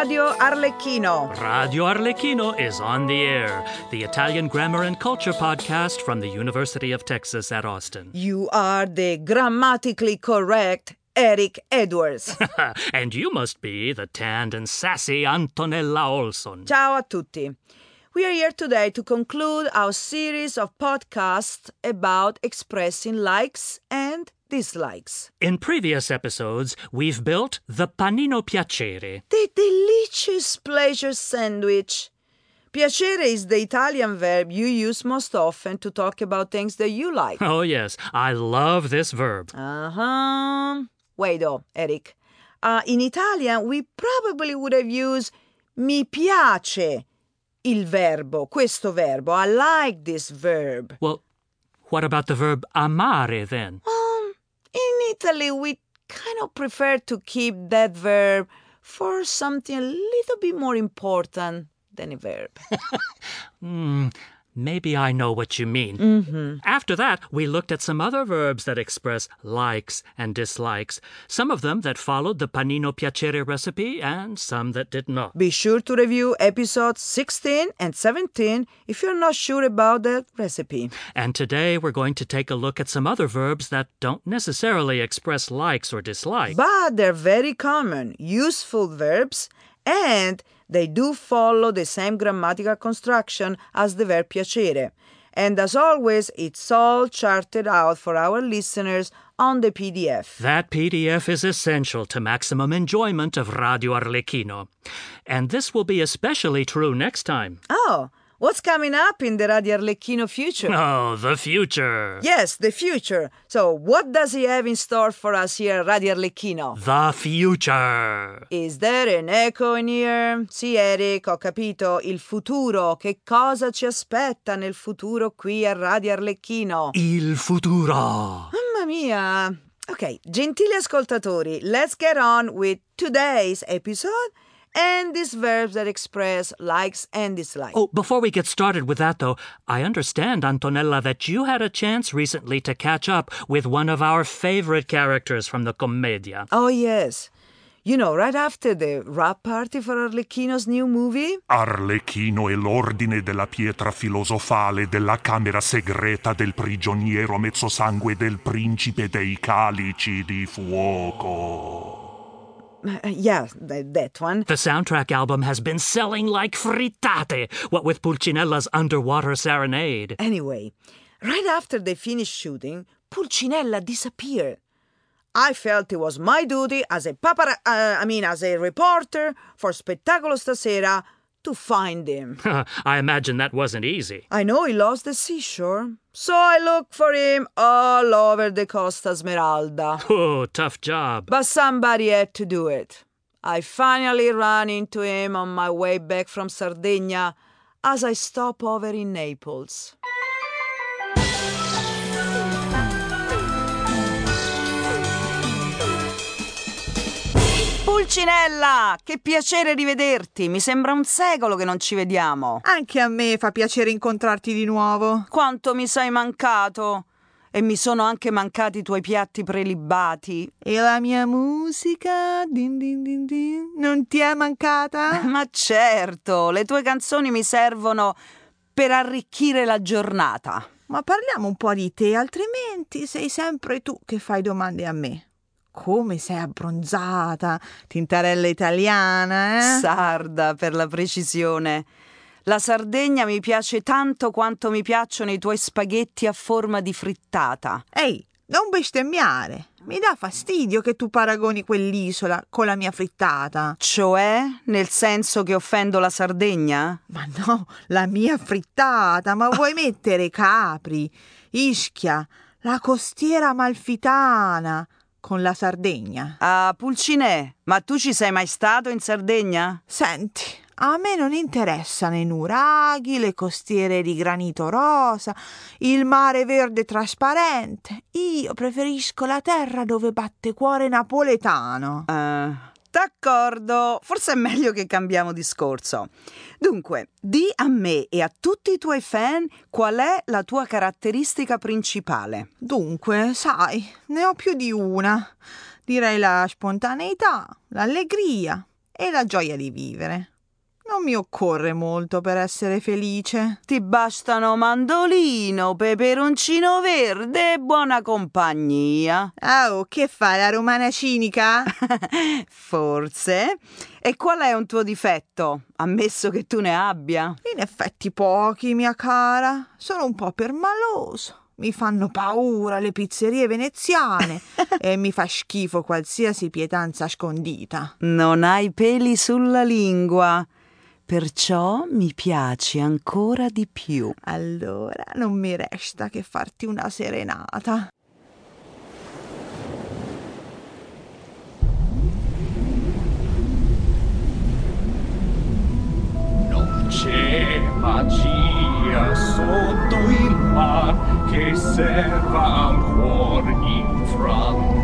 Radio Arlecchino. Radio Arlecchino is on the air, the Italian grammar and culture podcast from the University of Texas at Austin. You are the grammatically correct Eric Edwards. And you must be the tanned and sassy Antonella Olson. Ciao a tutti. We are here today to conclude our series of podcasts about expressing likes and dislikes. In previous episodes, we've built the panino piacere. The delicious pleasure sandwich. Piacere is the Italian verb you use most often to talk about things that you like. Oh, yes. I love this verb. Wait, though, Eric. In Italian, we probably would have used mi piace il verbo, questo verbo. I like this verb. Well, what about the verb amare, then? In Italy, we kind of prefer to keep that verb for something a little bit more important than a verb. Maybe I know what you mean. After that, we looked at some other verbs that express likes and dislikes. Some of them that followed the panino piacere recipe and some that did not. Be sure to review episodes 16 and 17 if you're not sure about that recipe. And today we're going to take a look at some other verbs that don't necessarily express likes or dislikes. But they're very common, useful verbs, and they do follow the same grammatical construction as the verb piacere. And as always, it's all charted out for our listeners on the PDF. That PDF is essential to maximum enjoyment of Radio Arlecchino. And this will be especially true next time. Oh, what's coming up in the Radio Arlecchino future? Oh, the future. Yes, the future. So what does he have in store for us here at Radio Arlecchino? The future. Is there an echo in here? Sì, Eric, ho capito. Il futuro. Che cosa ci aspetta nel futuro qui a Radio Arlecchino? Il futuro. Mamma mia. Ok, gentili ascoltatori, let's get on with today's episode and these verbs that express likes and dislikes. Oh, before we get started with that, though, I understand, Antonella, that you had a chance recently to catch up with one of our favorite characters from the Commedia. Oh, yes. You know, right after the wrap party for Arlecchino's new movie? Arlecchino e l'ordine della pietra filosofale della camera segreta del prigioniero mezzosangue del principe dei calici di fuoco. Yeah, that one. The soundtrack album has been selling like frittate, what with Pulcinella's underwater serenade. Anyway, right after they finished shooting, Pulcinella disappeared. I felt it was my duty as a as a reporter for Spettacolo Stasera to find him. I imagine that wasn't easy. I know he lost the seashore, so I looked for him all over the Costa Smeralda. Oh, tough job. But somebody had to do it. I finally ran into him on my way back from Sardinia as I stopped over in Naples. Pulcinella, che piacere rivederti. Mi sembra un secolo che non ci vediamo. Anche a me fa piacere incontrarti di nuovo. Quanto mi sei mancato. E mi sono anche mancati i tuoi piatti prelibati. E la mia musica? Din din din din. Non ti è mancata? Ma certo, le tue canzoni mi servono per arricchire la giornata. Ma parliamo un po' di te, altrimenti sei sempre tu che fai domande a me. Come sei abbronzata, tintarella italiana, eh? Sarda, per la precisione. La Sardegna mi piace tanto quanto mi piacciono i tuoi spaghetti a forma di frittata. Ehi, non bestemmiare. Mi dà fastidio che tu paragoni quell'isola con la mia frittata. Cioè, nel senso che offendo la Sardegna? Ma no, la mia frittata, ma vuoi mettere Capri, Ischia, la costiera amalfitana con la Sardegna? Ah, Pulcinè, ma tu ci sei mai stato in Sardegna? Senti, a me non interessano i nuraghi, le costiere di granito rosa, il mare verde trasparente. Io preferisco la terra dove batte cuore napoletano. D'accordo, forse è meglio che cambiamo discorso. Dunque, di a me e a tutti i tuoi fan qual è la tua caratteristica principale. Dunque, sai, ne ho più di una. Direi la spontaneità, l'allegria, e la gioia di vivere. Non mi occorre molto per essere felice. Ti bastano mandolino, peperoncino verde e buona compagnia. Oh, che fai, la romana cinica? Forse. E qual è un tuo difetto, ammesso che tu ne abbia? In effetti pochi, mia cara. Sono un po' permaloso. Mi fanno paura le pizzerie veneziane e mi fa schifo qualsiasi pietanza scondita. Non hai peli sulla lingua, perciò mi piaci ancora di più. Allora non mi resta che farti una serenata. Non c'è magia sotto il mar che serva al cuor infranto.